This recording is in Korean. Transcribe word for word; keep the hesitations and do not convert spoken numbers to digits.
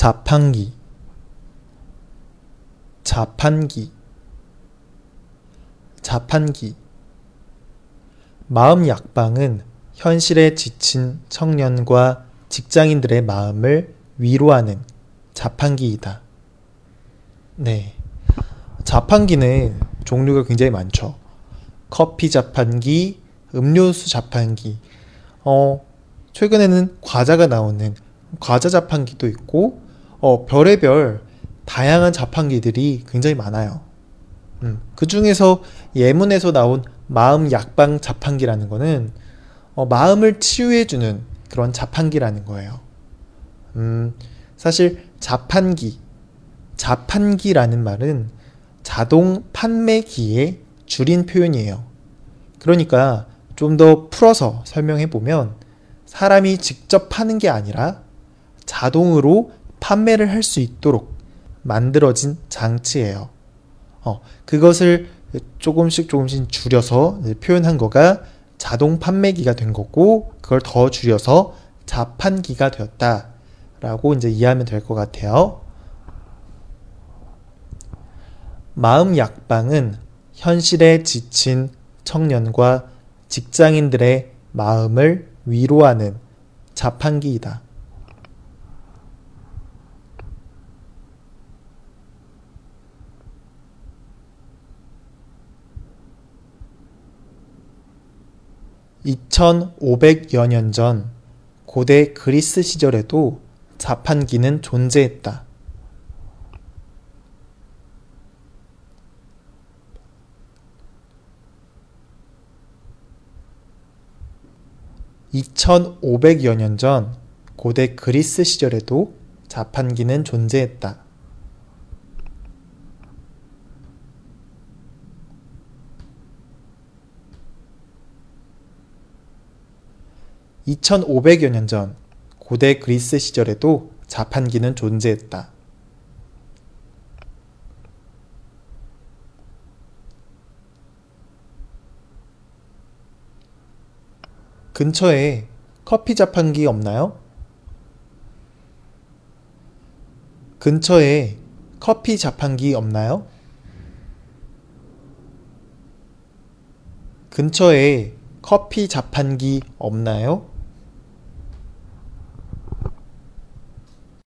자판기, 자판기, 자판기. 마음 약방은 현실에 지친 청년과 직장인들의 마음을 위로하는 자판기이다. 네. 자판기는 종류가 굉장히 많죠. 커피 자판기, 음료수 자판기, 어, 최근에는 과자가 나오는 과자 자판기도 있고, 어, 별의별 다양한 자판기들이 굉장히 많아요. 음, 그 중에서 예문에서 나온 마음 약방 자판기라는 거는 어, 마음을 치유해주는 그런 자판기라는 거예요. 음, 사실 자판기, 자판기라는 말은 자동 판매기의 줄인 표현이에요. 그러니까 좀 더 풀어서 설명해 보면 사람이 직접 파는 게 아니라 자동으로 판매를 할 수 있도록 만들어진 장치예요. 어, 그것을 조금씩 조금씩 줄여서 표현한 거가 자동 판매기가 된 거고, 그걸 더 줄여서 자판기가 되었다 라고 이제 이해하면 될 것 같아요. 마음 약방은 현실에 지친 청년과 직장인들의 마음을 위로하는 자판기이다. 이천오백여 년 전 고대 그리스 시절에도 자판기는 존재했다. 이천오백여 년 전 고대 그리스 시절에도 자판기는 존재했다. 이천오백여 년 전 고대 그리스 시절에도 자판기는 존재했다. 근처에 커피 자판기 없나요? 근처에 커피 자판기 없나요? 근처에 커피 자판기 없나요?